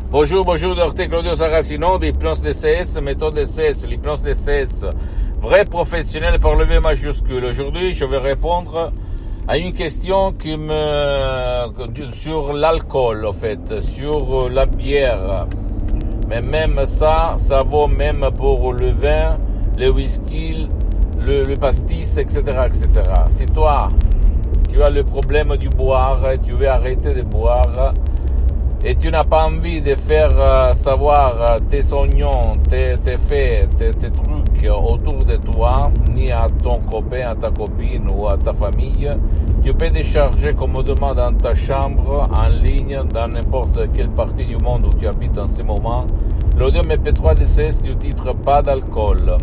Bonjour, docteur Claudio Saracino d'Hypnose DCS, méthode DCS, l'hypnose DCS, vrai professionnel par le V majuscule. Aujourd'hui, je vais répondre à une question sur l'alcool, en fait, sur la bière. Mais même ça vaut même pour le vin, le whisky, le pastis, etc., etc. Si toi, tu as le problème du boire, tu veux arrêter de boire, et tu n'as pas envie de faire savoir tes oignons, tes faits, tes trucs autour de toi, ni à ton copain, à ta copine ou à ta famille, tu peux décharger commodément dans ta chambre, en ligne, dans n'importe quelle partie du monde où tu habites en ce moment, l'audio MP3 DCS du titre Pas d'alcool,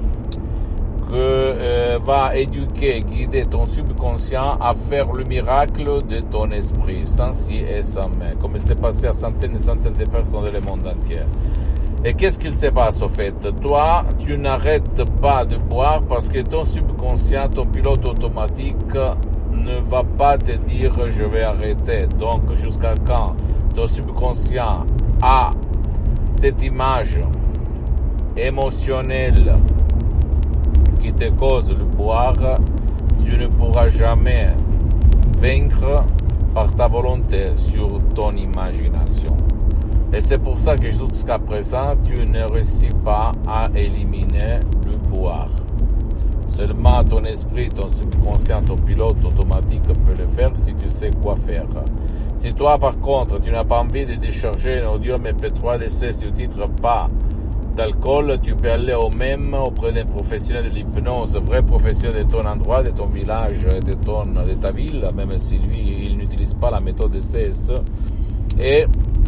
que va éduquer, guider ton subconscient à faire le miracle de ton esprit, sans si et sans mais, comme il s'est passé à centaines et centaines de personnes dans le monde entier. Et qu'est-ce qu'il se passe au fait? Toi, tu n'arrêtes pas de boire parce que ton subconscient, ton pilote automatique ne va pas te dire je vais arrêter. Donc jusqu'à quand ton subconscient a cette image émotionnelle qui te cause le boire, tu ne pourras jamais vaincre par ta volonté sur ton imagination. Et c'est pour ça que jusqu'à présent, tu ne réussis pas à éliminer le boire. Seulement ton esprit, ton subconscient, ton pilote automatique peut le faire si tu sais quoi faire. Si toi, par contre, tu n'as pas envie de décharger un audio MP3 DCS du titre Pas d'alcool, tu peux aller auprès d'un professionnel de l'hypnose, vrai professionnel de ton endroit, de ton village, de ta ville, même si lui, il n'utilise pas la méthode DCS, et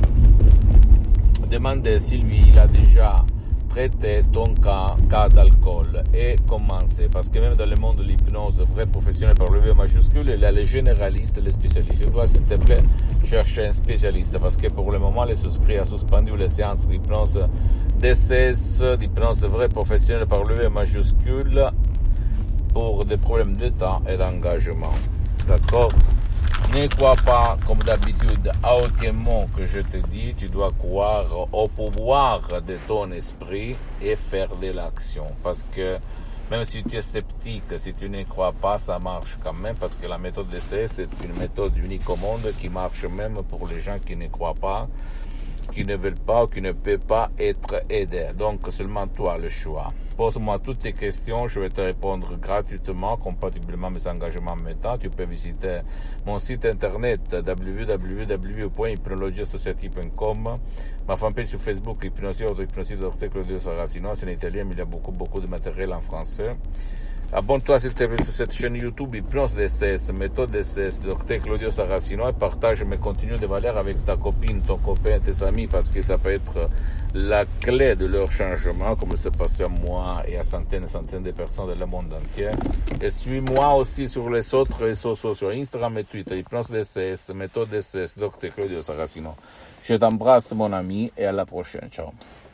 demander si lui, il a déjà traité ton cas d'alcool et commencer. Parce que même dans le monde de l'hypnose, vrai professionnel par le V majuscule, il y a les généralistes, les spécialistes. Je dois, s'il te plaît, chercher un spécialiste parce que pour le moment, les souscrits a suspendu les séances d'hypnose DCS, d'hypnose vrai professionnel par le V majuscule pour des problèmes de temps et d'engagement. D'accord? Ne crois pas, comme d'habitude, à aucun mot que je te dis. Tu dois croire au pouvoir de ton esprit et faire de l'action. Parce que même si tu es sceptique, si tu ne crois pas, ça marche quand même. Parce que la méthode DCS, c'est une méthode unique au monde qui marche même pour les gens qui ne croient pas, qui ne veulent pas ou qui ne peuvent pas être aidés. Donc seulement toi le choix. Pose-moi toutes tes questions, je vais te répondre gratuitement, compatiblement à mes engagements maintenant. Tu peux visiter mon site internet www.hypnologieassociative.com, ma fanpage sur Facebook, Hypnosie Dr Claudio Saracino, c'est en italien, mais il y a beaucoup de matériel en français. Abonne-toi s'il te plaît sur cette chaîne YouTube Hypnose DCS, méthode DCS, Dr Claudio Saracino, et partage mes contenus de valeur avec ta copine, ton copain, tes amis, parce que ça peut être la clé de leur changement, comme c'est passé à moi et à centaines et centaines de personnes dans le monde entier. Et suis-moi aussi sur les autres réseaux sociaux, Instagram et Twitter, Hypnose DCS, méthode DCS, Dr Claudio Saracino. Je t'embrasse mon ami et à la prochaine. Ciao.